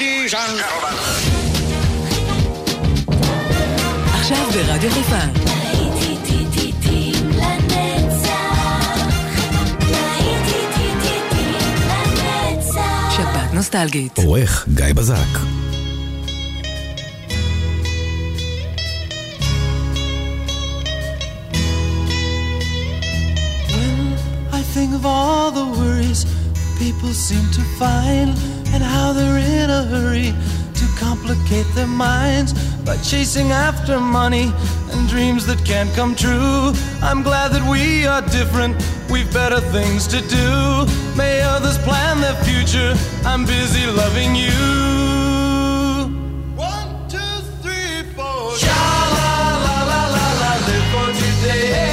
Ladies and gentlemen. עכשיו ברדיו חיפה. שבת נוסטלגית. עורך גיא בזק. Think of all the worries people seem to find, and how they're in a hurry to complicate their minds by chasing after money and dreams that can't come true. I'm glad that we are different, we've better things to do. May others plan their future, I'm busy loving you. 1, 2, 3, 4. Sha-la-la-la-la-la, live for today.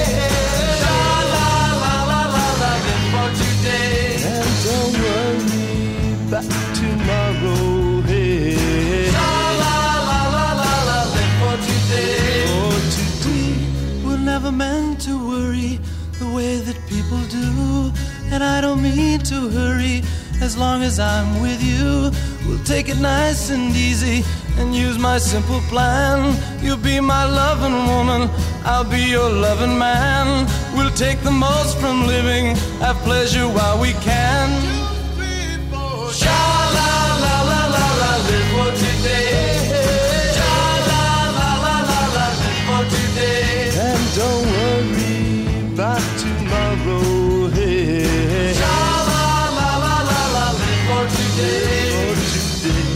Tomorrow, hey. La la la la la la, live for today. For today, we're never meant to worry the way that people do, and I don't mean to hurry. As long as I'm with you, we'll take it nice and easy and use my simple plan. You'll be my loving woman, I'll be your loving man. We'll take the most from living, have pleasure while we can. 2, 3, 4. Sha-la-la-la-la-la, live for today. Sha-la-la-la-la-la, live for today. And don't worry about tomorrow, hey. Sha-la-la-la-la-la, live for today. For today.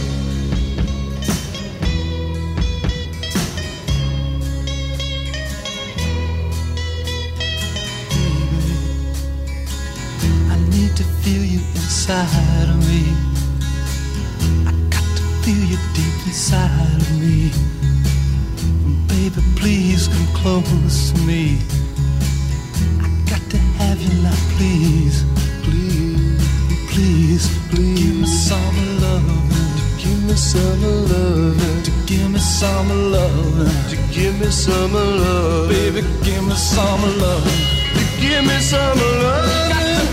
Feel you inside of me. I got to feel you deep inside of me. Baby, please come close to me. I got to have you now, please. Please, please, please. Give me some loving. Give me some loving. To give me some loving. To give me some love. Baby, give me some loving. To give me some love.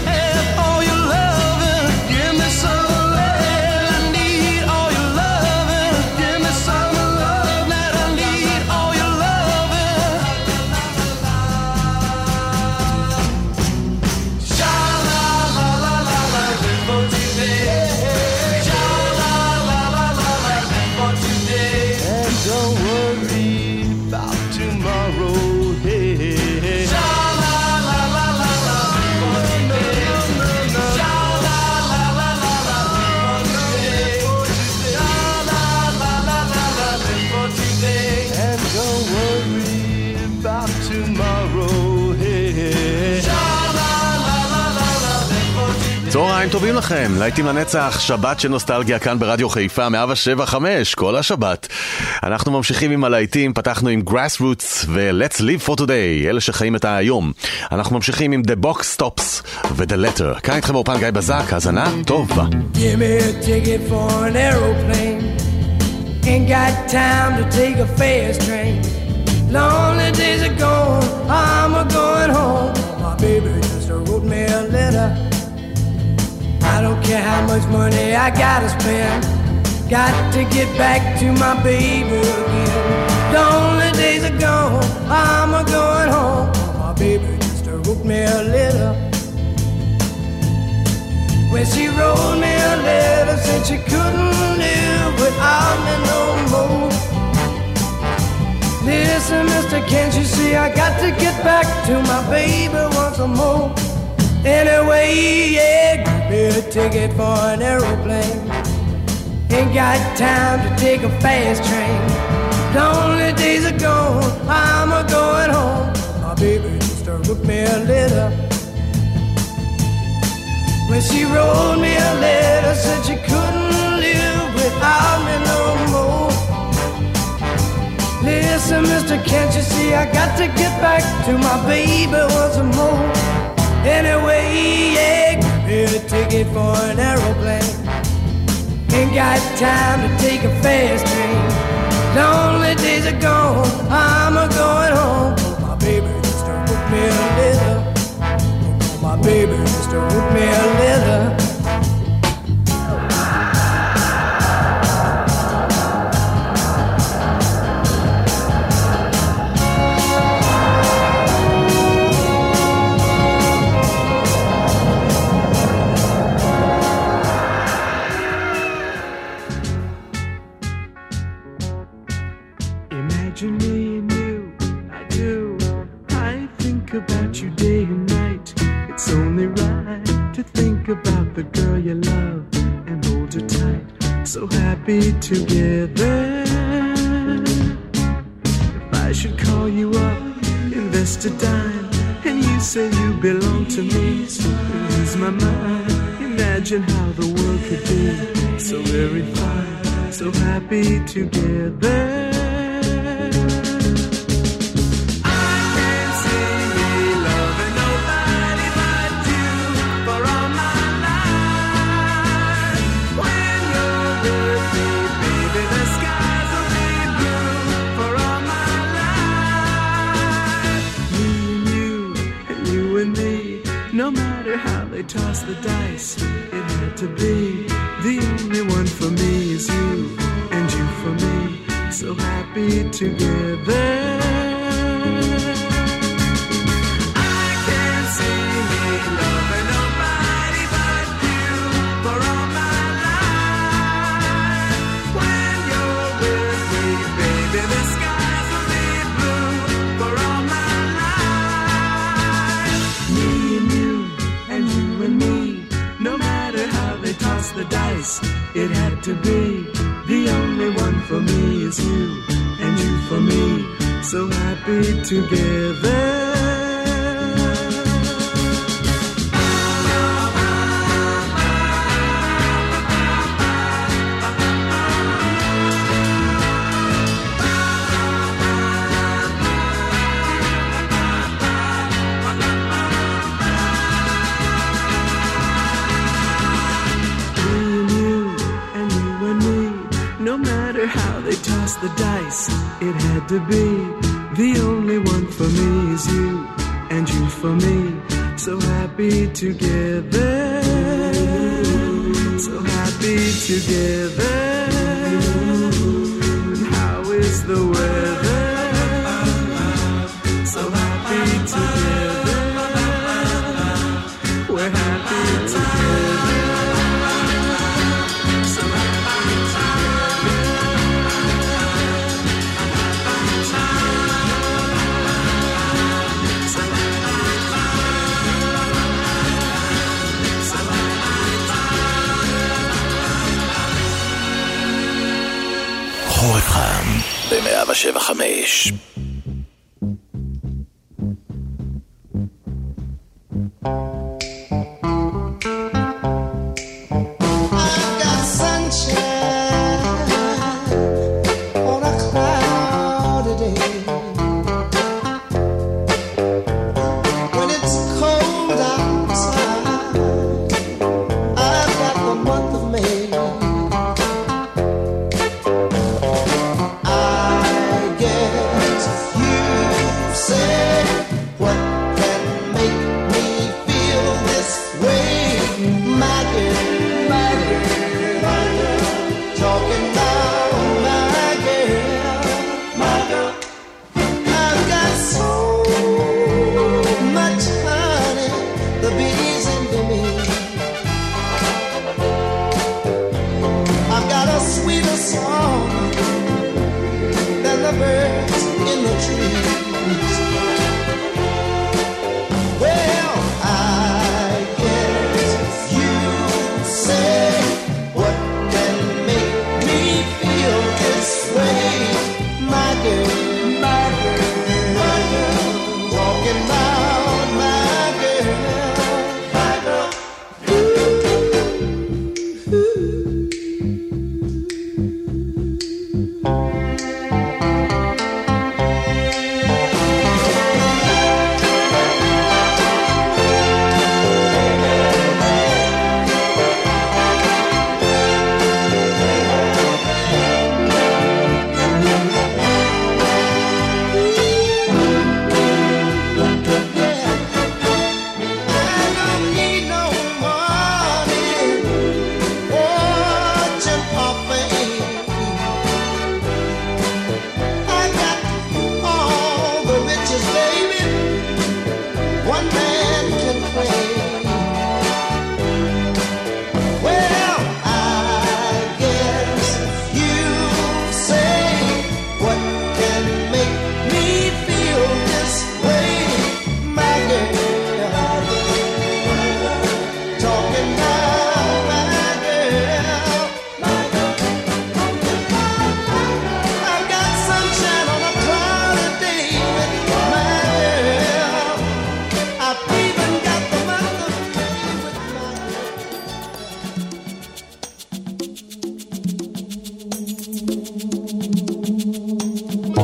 צהריים טובים לכם, להיטים לנצח, שבת של נוסטלגיה כאן ברדיו חיפה 107.5 כל השבת. אנחנו ממשיכים עם הלהיטים, פתחנו עם Grassroots ו-Let's Live for Today, אלה שחיים את היום. אנחנו ממשיכים עם The Box Stops ו-The Letter. כאן איתכם באופן גיא בזק, האזנה טובה. Give me a ticket for an aeroplane. Ain't got time to take a fast train. Lonely days are gone, I'm a-going home. My baby just wrote me a letter. I don't care how much money I gotta spend. Got to get back to my baby again. Lonely days are gone, I'm a-going home. My baby just wrote me a letter. When she wrote me a letter, said she couldn't live without me no more. Listen, mister, can't you see I got to get back to my baby once more. Anyway, yeah, give me a ticket for an aeroplane. Ain't got time to take a fast train. Lonely days are gone, I'm a-going home. My baby just wrote me a letter. When she wrote me a letter, said she couldn't live without me no more. Listen, mister, can't you see I got to get back to my baby once more. Anyway, yeah, give me a ticket for an aeroplane. Ain't got time to take a fast train. Lonely days are gone, I'm a-going home. My baby just wrote me a letter. My baby just wrote me a letter. so happy together. If I should call you up, invest a dime, and you say you belong to me, so lose my mind. Imagine how the world could be so very fine, so happy together. Toss the dice, it had to be. The only one for me is you, and you for me, so happy together. I can't see me loving nobody but you for all my life. When you're with me, baby, the skies will be blue for all my life. Me and you, and you and me, no matter how they toss the dice, it had to be. The only one for me is you, and you for me, so happy together. The dice, it had to be. The only one for me is you, and you for me, so happy together, so happy together. And how is the weather? So happy together, we're happy together. So happy together. חורף חם ב-107.5.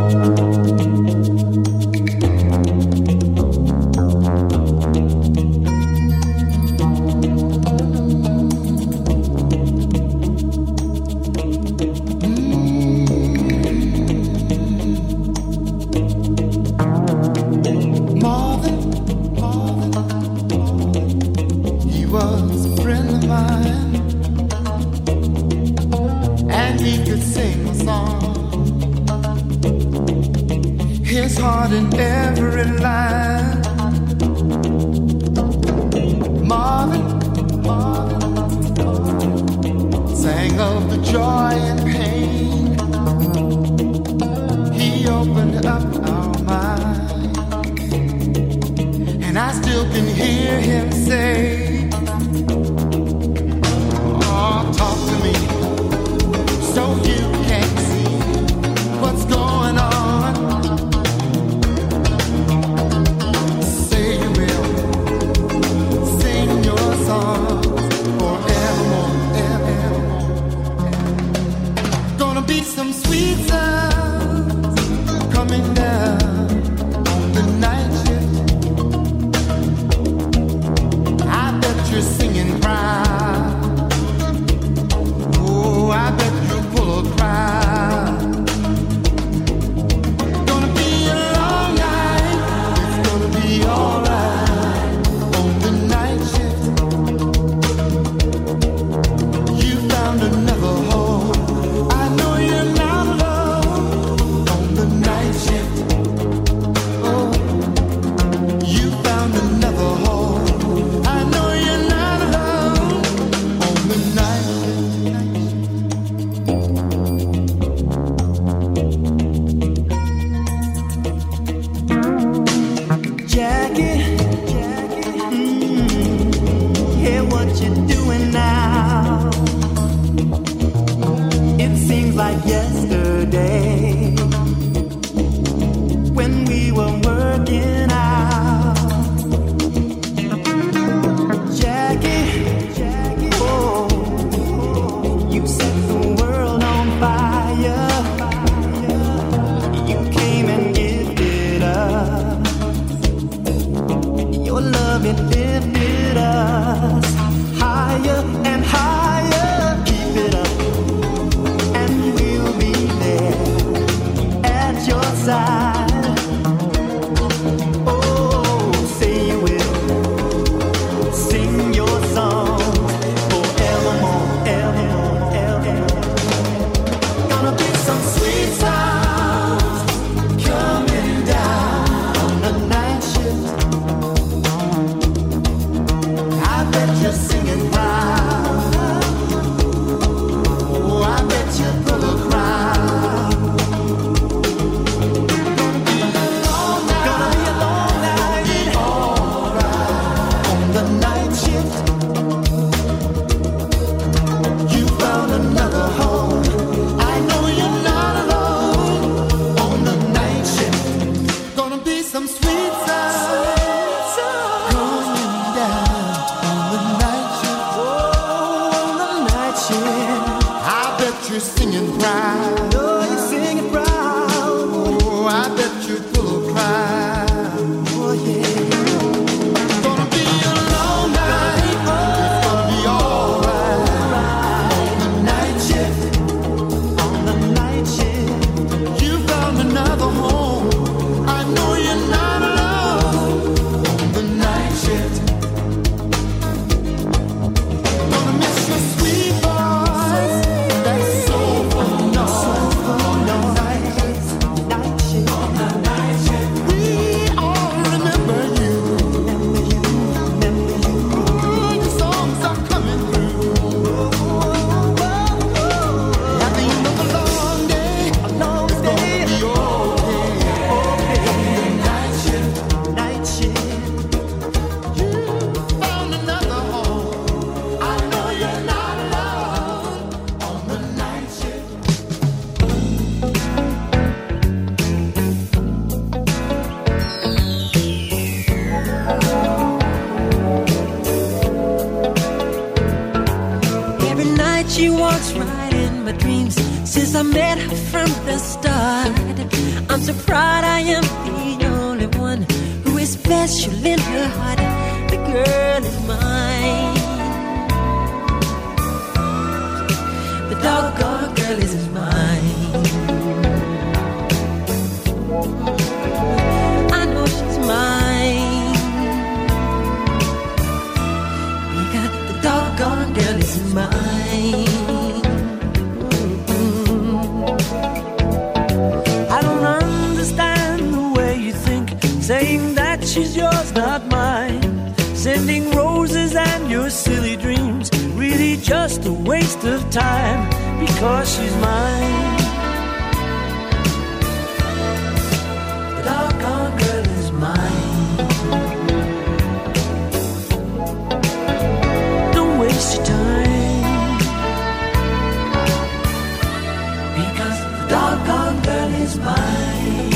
Gonna miss your sweet voice, that soulful noise. dreams since I met her from the start. I'm so proud I am the only one who is special in her heart. The girl is mine. The doggone girl is mine. I know she's mine. Because the doggone girl is mine. I don't understand the way you think, saying that she's yours, not mine. Sending roses and your silly dreams, really just a waste of time, because she's mine. The doggone girl is mine. Don't waste your time, because the doggone girl is mine.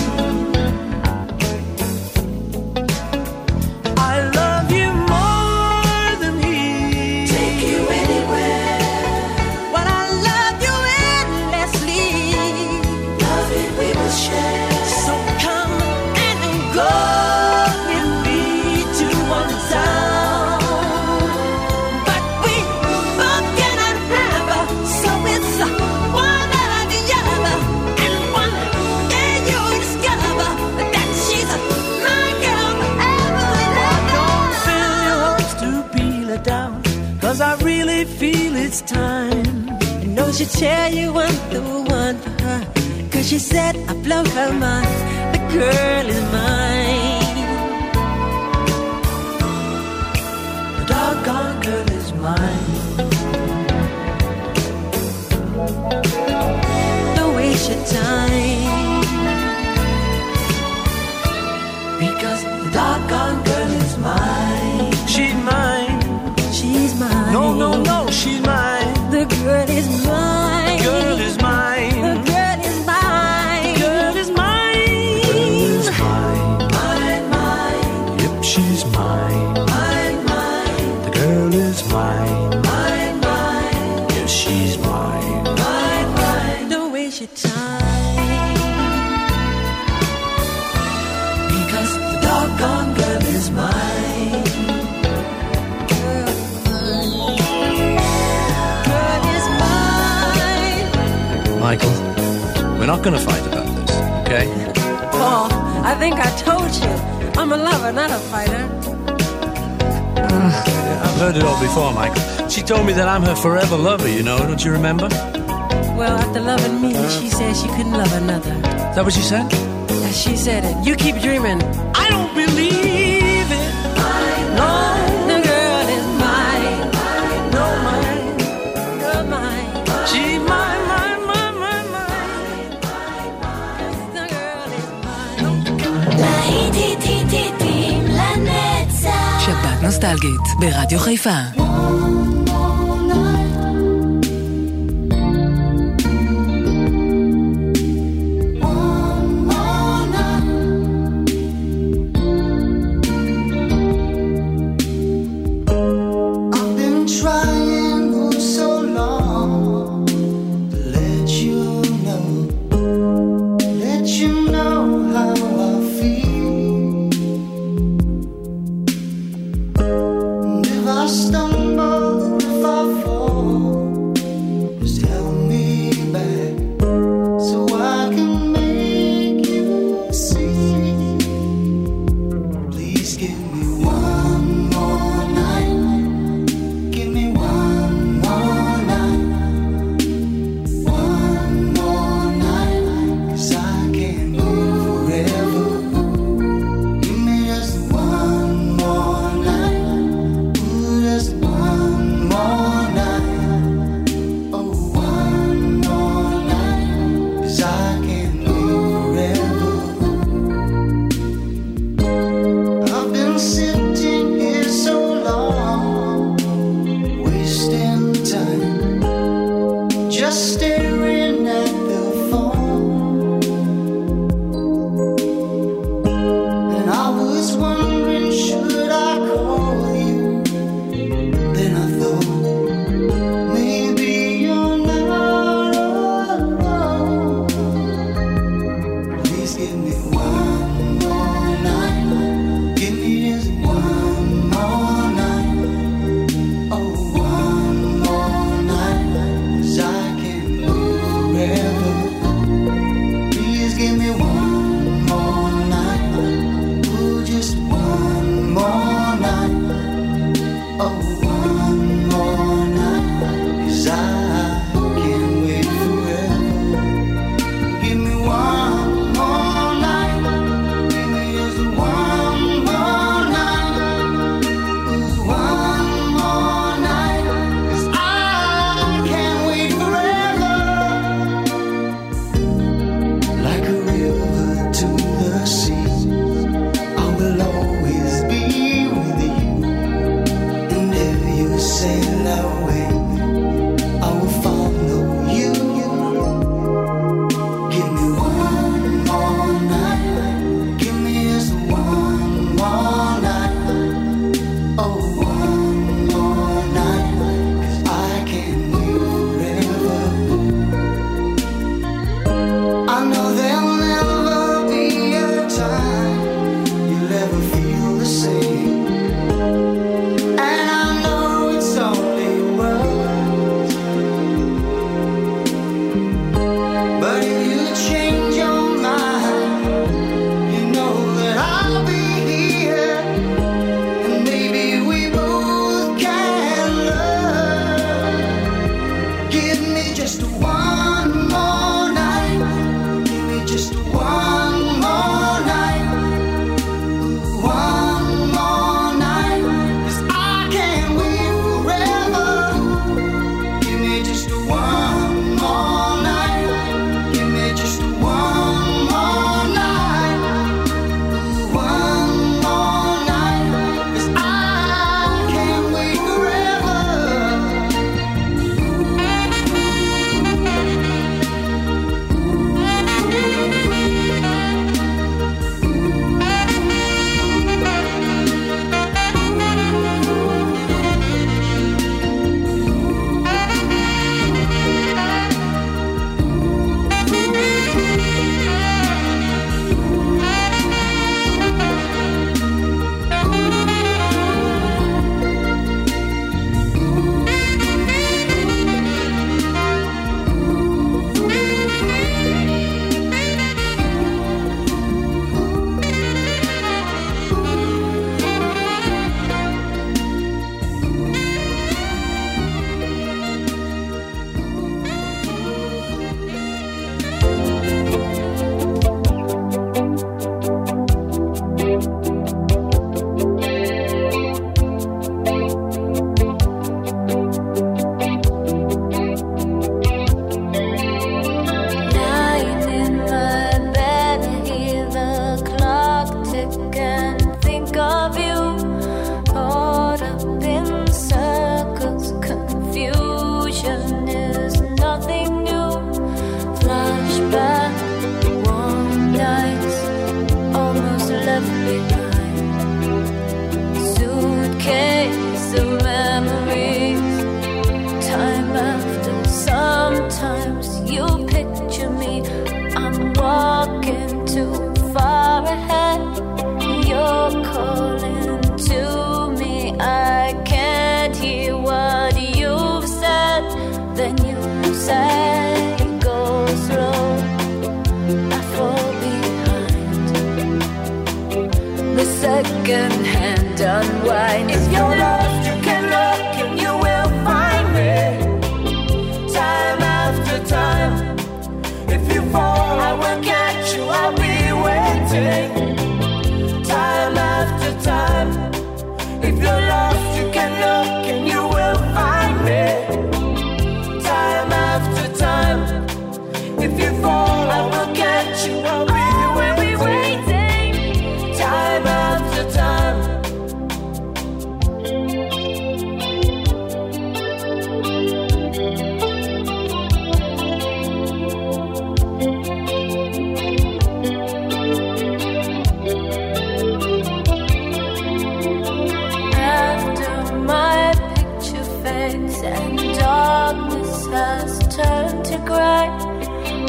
I love you more than he. Take you anywhere. But I love you endlessly. Love it we will share. So come and go with me to one town. But we both cannot have her, so it's one or the other. And one day you'll discover that she's my girl forever and Don't ever. fill your hopes to peel it down, 'cause I really feel it's time. I know she'll tell you I'm the one for her, 'cause she said I blow her mind. The girl is mine. The doggone girl is mine. Don't waste your time, Because the doggone girl is mine. She's mine. she's mine. No, no, no, she's mine. The girl is mine. Girl is mine. The girl is mine. Girl is mine. Girl is mine. Mine, mine, Yep, she's mine. mine, mine, The girl is mine. mine, mine, Yes, she's mine. mine, mine. Don't waste your time, Because the doggone girl is mine. girl is mine. Michael, we're not going to fight about this, okay? Paul, I think I told you, I'm a lover, not a fighter. I've heard it all before, Michael. She told me that I'm her forever lover, you know, don't you remember? Well, after loving me, she said she couldn't love another. Is that what she said? Yeah, she said it. You keep dreaming. I don't believe it. No, The girl is mine. no, mine. You're mine. She's mine, mine, mine, mine, mine. The girl is mine. שבת נוסטלגית ברדיו חיפה. I've been trying for so long to let you know how I feel. And if I stumble, if I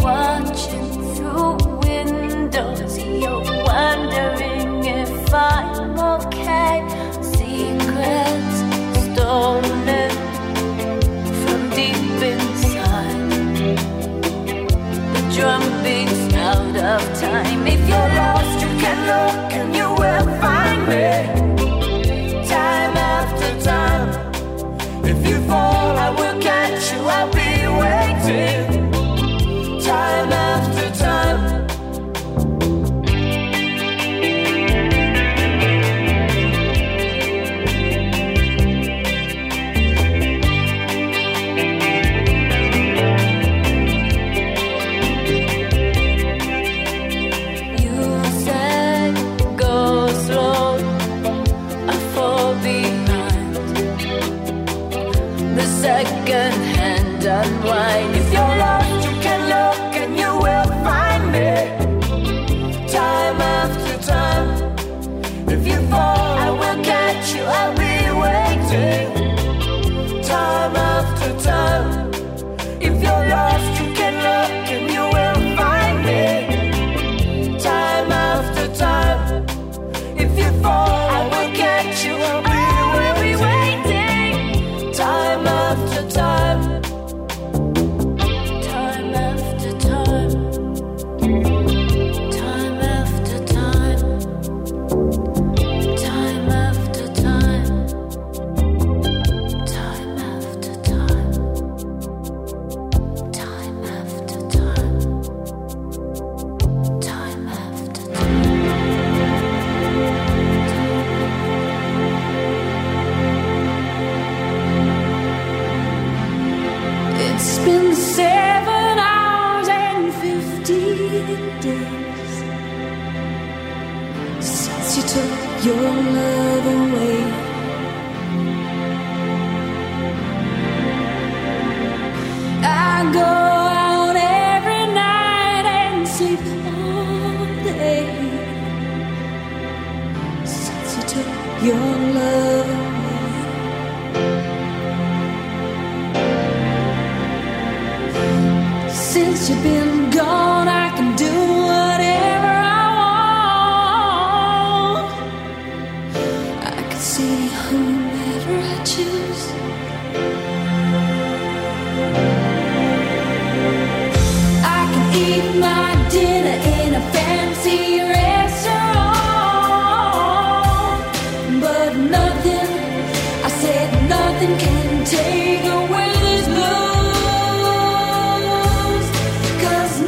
watching through windows. You're wondering if I'm okay. Secrets stolen from deep inside. The drum beats out of time. If you're lost, you can look and you will find me. Time after time. If you fall, I will catch you. I'll be waiting. Time after time. You said go slow, I fall behind. The second hand unwind. If you're lost, you can look and you will find me. Time after time. If you fall, I will catch you. I'll be waiting. Time after time. If you're lost, you can look and you will find me. Time after time. If you fall, I will catch you. I'll be waiting. Time after time. Time after time. Time after time. Time after time. Time after time. Time after time. Time after time. It's been 7 hours and 50 days since you took your love away. I go out every night and sleep all day since you took your love away. Since you've been gone, I can do whatever I want. I can see whomever I choose. I can eat my dinner in a fancy restaurant, but nothing, I said nothing can take away this blues. 'Cause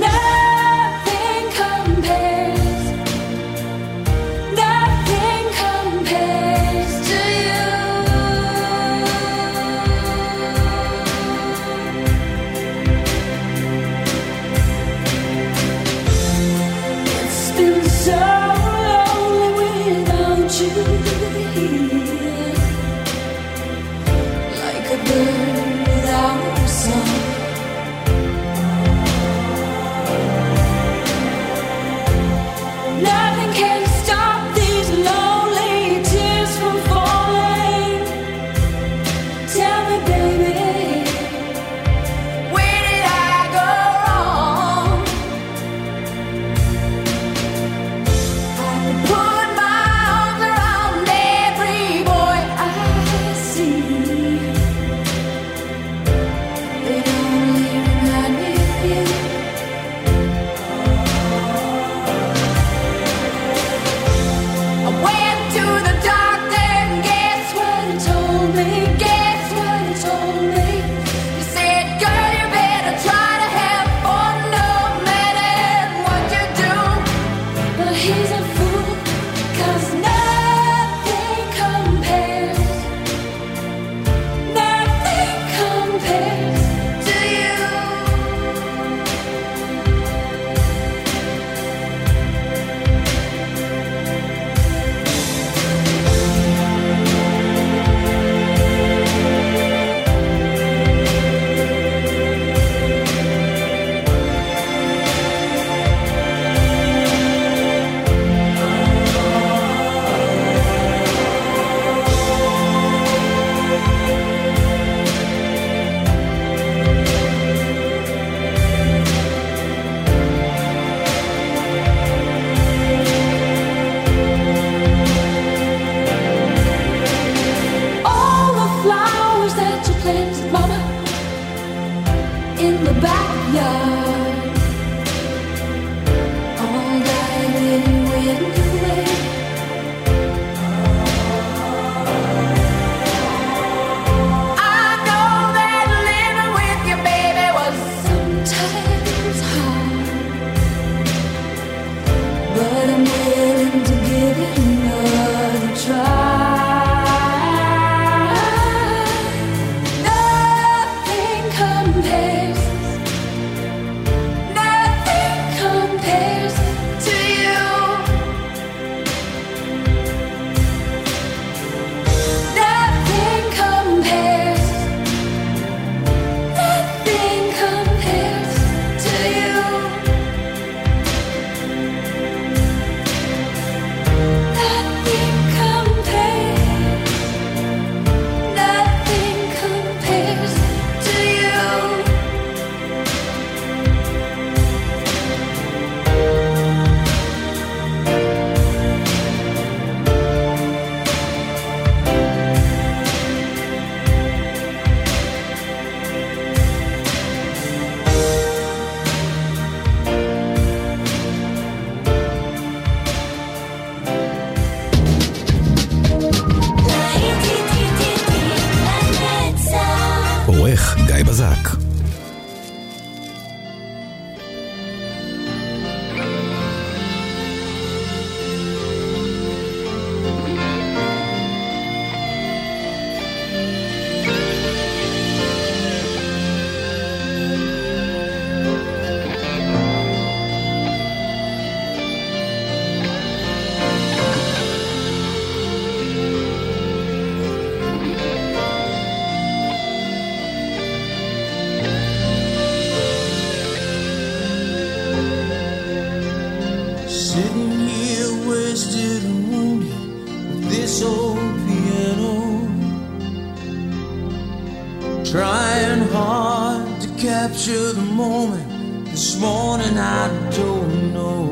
sitting here wasted and wounded with this old piano, trying hard to capture the moment. This morning I don't know,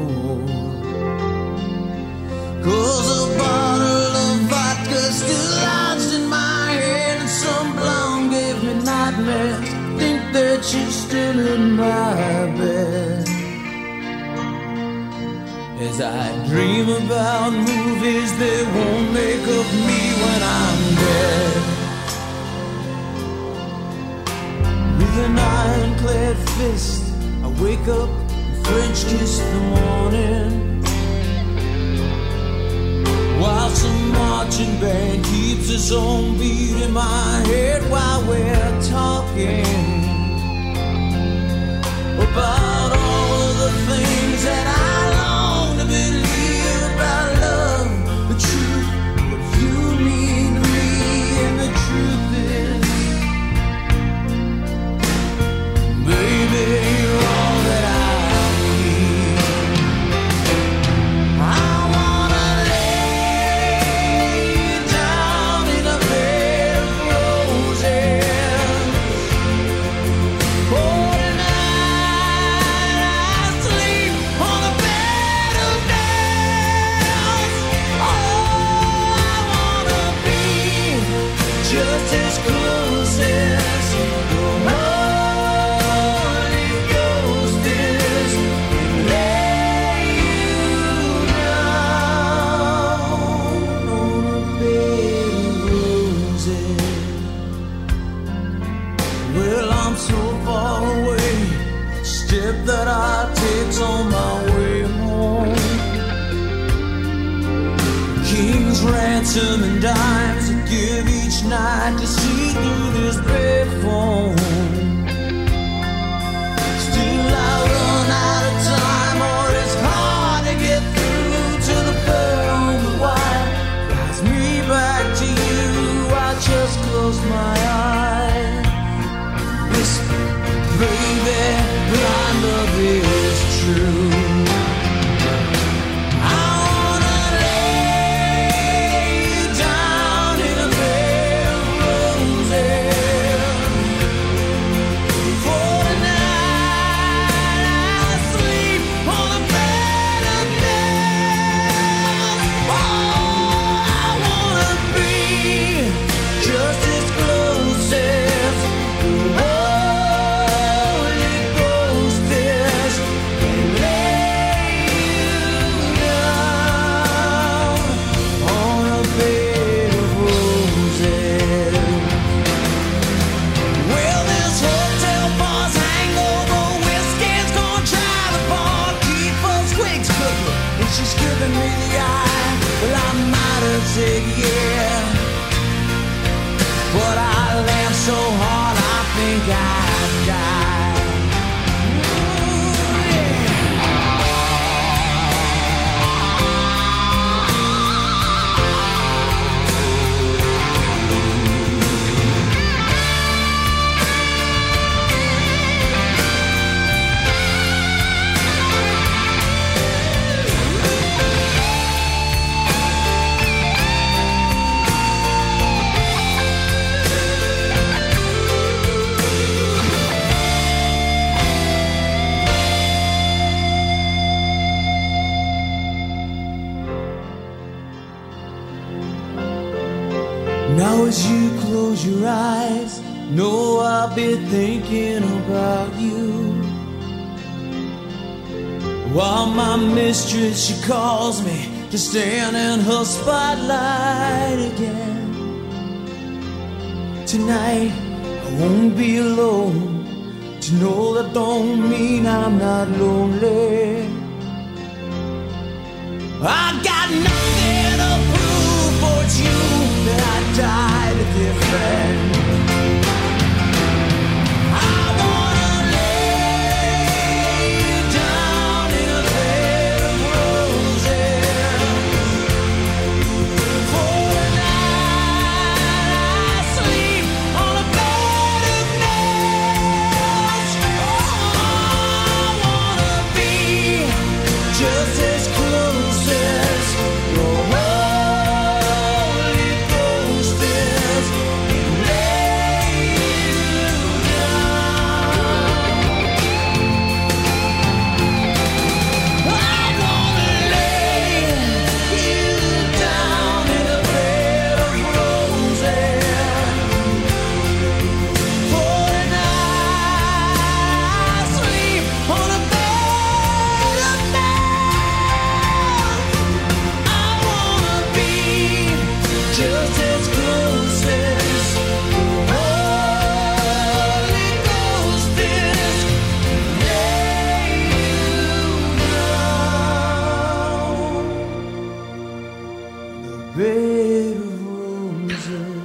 'cause a bottle of vodka still lodged in my head, and some blonde gave me nightmares. Think that she's still in my bed as I dream about movies they won't make of me when I'm dead. With an ironclad fist I wake up and French kiss the morning, while some marching band keeps its own beat in my head while we're talking about all of the things that I long to believe about love, the truth, what you mean to me, and the truth is, baby, you're all that I need. I wanna lay you down in a bed of roses. Oh, tonight I sleep on a bed of nails. Oh, I wanna be just as close as the Holy Ghost is, and lay you down on a bed of roses. Well, I'm so far away, step that I take's on my way home. King's ransom and dimes I give each night to see through this bed phone. Still I run out of time, or it's hard to get through to the pearl on the wire. Drives me back to you, I just close my eyes, whisper, baby, my love is true. I wanna lay you down in a bed of roses. For tonight I sleep on a bed of nails. Oh, I wanna be just as close as the Holy Ghost is, and lay you down on a bed of roses. Well, this hotel bar's hangover whiskey's gonna try the bar, keep us quick cooking, and she's giving me the eye. Well, I might have said yeah, but I laughed so hard I think I'd die. Ooh, yeah. Now as you close your eyes, know I'll be thinking about you, while my mistress, she calls me to stand in her spotlight again. Tonight I won't be alone, to know that don't mean I'm not lonely. I got nothing to prove, for it's you that I died a dear friend. I wanna lay you down in a bed of roses. For tonight I sleep on a bed of nails. Oh, I wanna be just as close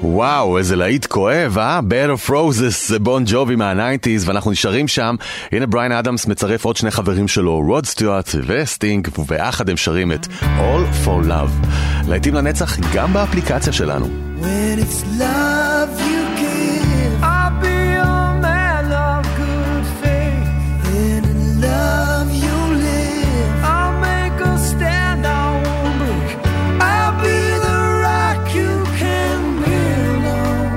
וואו, איזה להיט כואב, Bed of Roses זה בון ג'ובי מה-90s, ואנחנו נשארים שם. הנה בריין אדמס מצרף עוד שני חברים שלו, רוד סטיוארט וסטינג, וביחד הם שרים את All for Love. להיטים לנצח גם באפליקציה שלנו. When it's love you give, I'll be a man of good faith. When in love you live, I'll make a stand I won't break. I'll be the rock you can build on.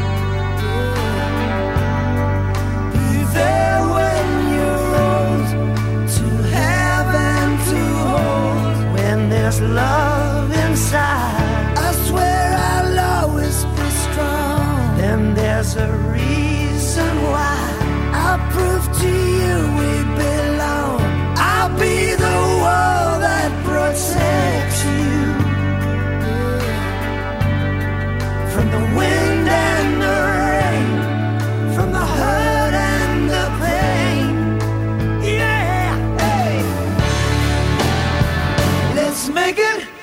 Be there when you're old, to have and to hold. When there's love inside, I swear I'll always be strong. Then there's a reason why I'll prove to you we belong. I'll be the wall that protects you from the wind and the rain, from the hurt and the pain. Yeah, hey. Let's make it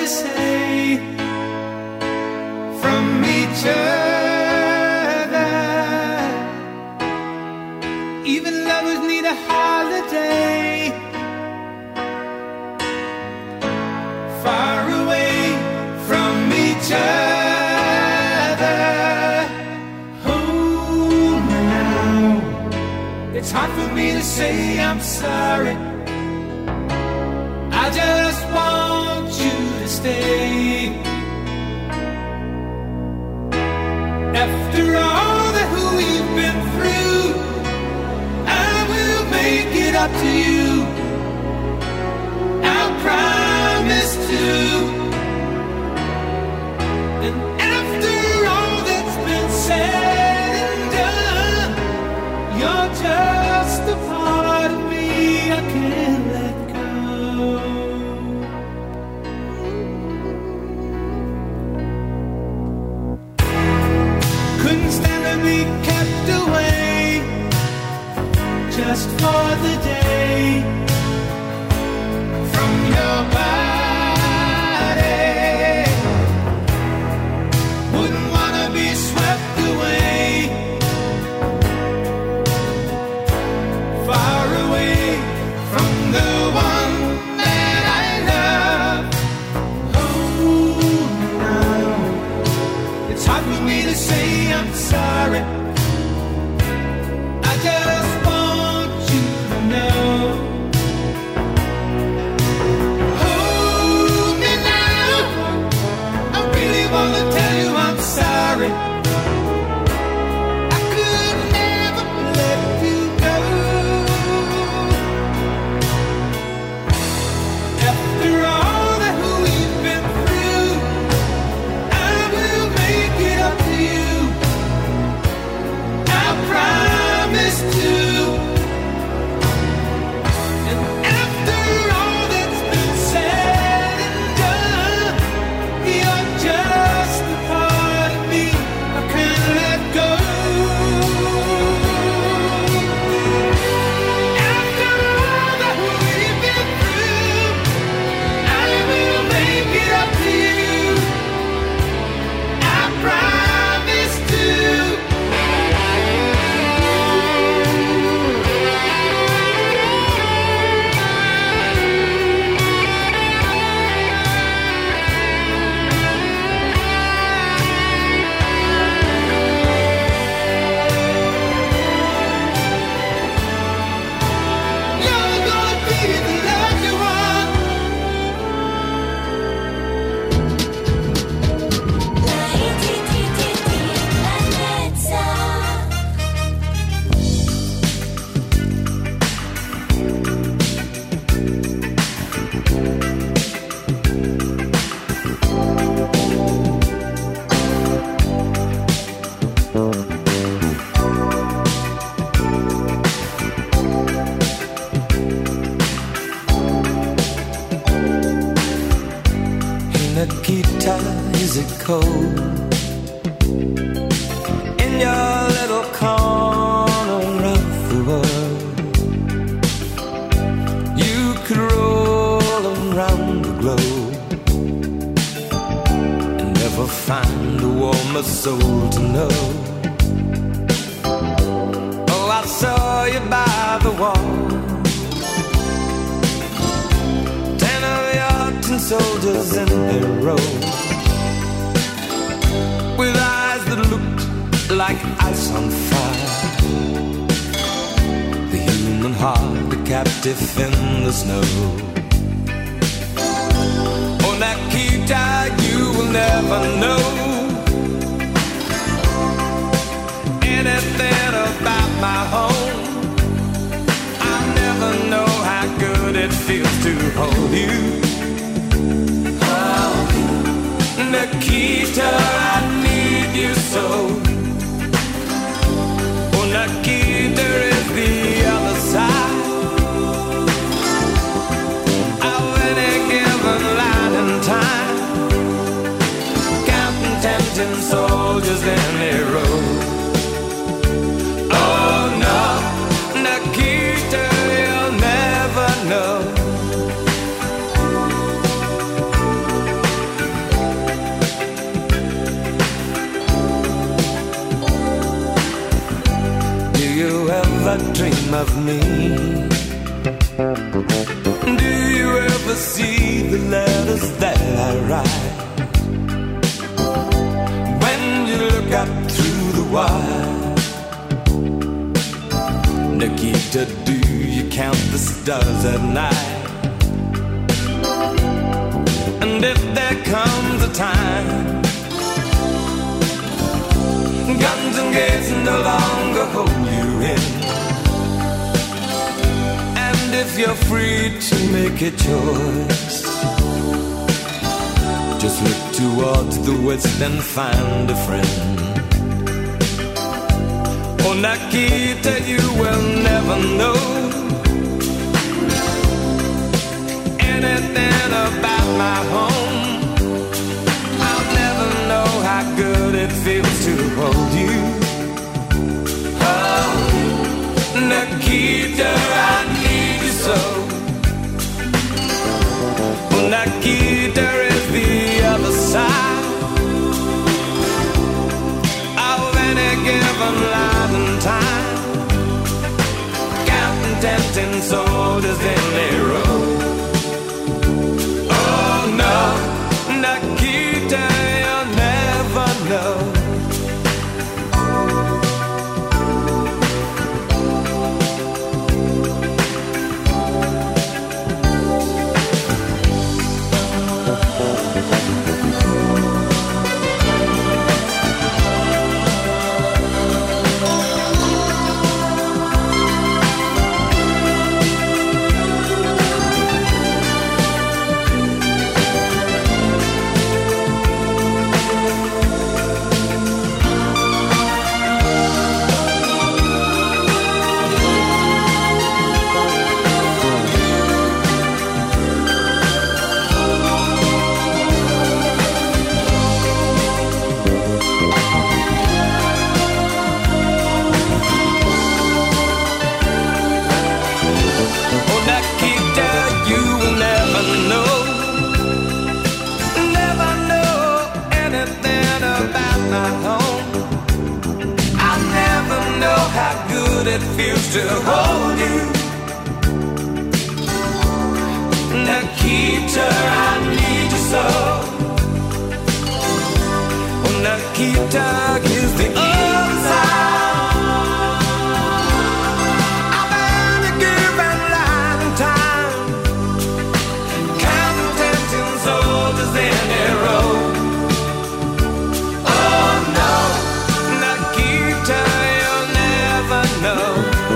to say from each other. Even lovers need a holiday. Far away from each other. Hold me now. It's hard for me to say I'm sorry. I just want you to stay. After all that we've been through, I will make it up to you. I'll promise to. And after all that's been said and done, you're just a part of me I can't let go. Couldn't stand to be kept away just for the day from your body. Wouldn't wanna be swept away, far away from the one that I love. Oh, now it's hard for me to say I'm sorry. I just want you to know. Hold me now. I really wanna tell you I'm sorry. I could never let you go. After all that we've been through, I will make it up to you. I promise to. And after all that's been said and done, you're just a part of me I can't let go. After all that we've been through, I will make it up to you. I promise to. You're gonna be the lucky one. Nikita, is it cold in your little corner of the world? You could roll around the globe and never find a warmer soul to know. Oh, I saw you by the wall, 10 of your tin soldiers in a row, with eyes that looked like ice on fire. The human heart, a captive in the snow. Oh, Nikita, you will never know anything about my home. I never know how good it feels to hold you. Oh, Nikita, I need you so. Oh, Nikita is the other side of any given line in time, counting 10 soldiers in a row. Oh no, Nikita, you'll never know Nikita, do you count the stars at night? And if there comes a time guns and gates no longer hold you in, and if you're free to make a choice, just look towards the west and find a friend. Oh, Nikita, you will never know anything about my home. I'll never know how good it feels to hold you. Oh, Nikita, I need you so. Oh, Nikita is the other side of any given life and time, counting 10 soldiers in a row. Oh no, Nikita, you'll never know. It feels to hold you, Nikita, I need you so. Oh, Nikita is the other side of any given life and time, counting 10 soldiers in a row. Oh no, Nikita, you'll never know.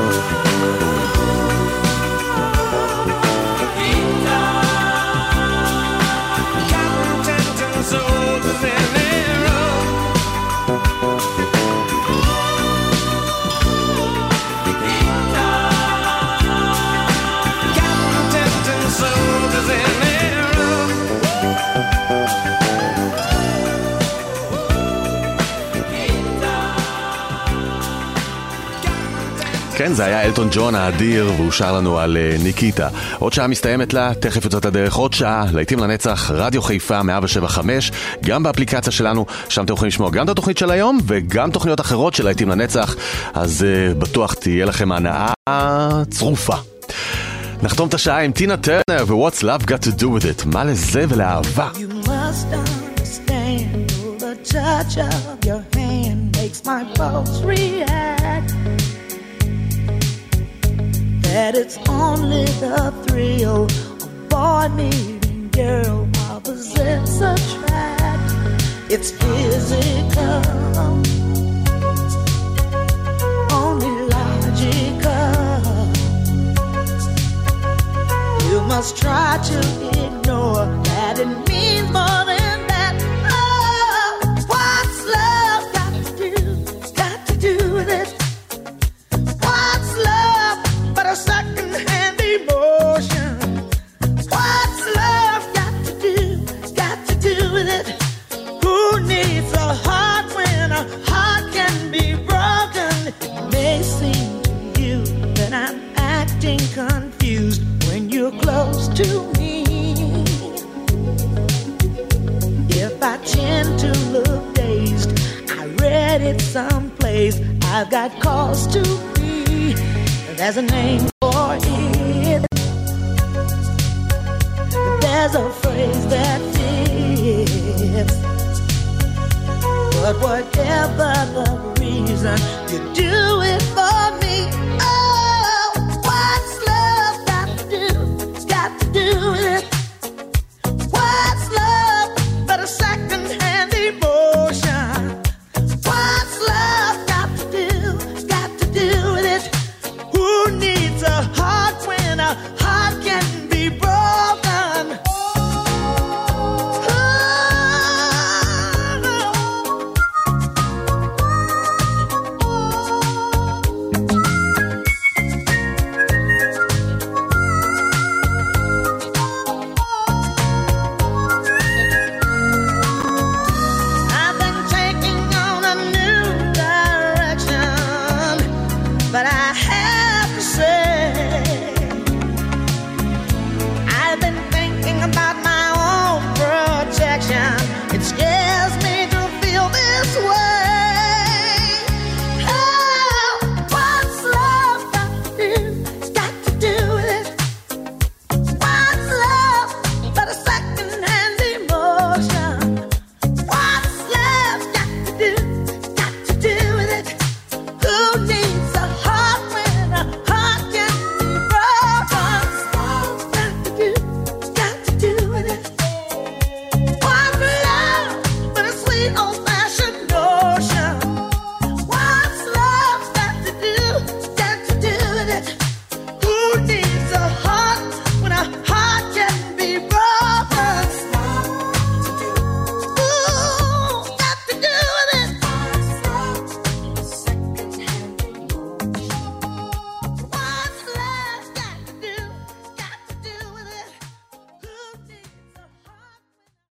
כן, זה היה אלטון ג'ון האדיר, והוא שר לנו על ניקיטה. עוד שעה מסתיימת לה, תכף יוצאת הדרך עוד שעה, להיטים לנצח, רדיו חיפה 107.5, גם באפליקציה שלנו, שם אתם יכולים לשמוע גם את התוכנית של היום, וגם תוכניות אחרות של להיטים לנצח, אז בטוח תהיה לכם הנאה צרופה. נחתום את השעה עם טינה טרנר ו-What's Love Got to Do With It, מה לזה ולאהבה. You must understand, the touch of your hand makes my pulse react. That it's only the thrill of boy meeting girl, opposites attract. It's physical, only logical. You must try to ignore that it means more than that. Oh, what's love got to do with it? What's love but a second-hand emotion? What's love got to do with it? Who needs a heart when a heart can be broken? It may seem to you that I'm acting confused when you're close to me. If I tend to look dazed, I read it someplace, I've got cause to be. There's a name for it. There's a phrase that fits. But whatever the reason, you do it for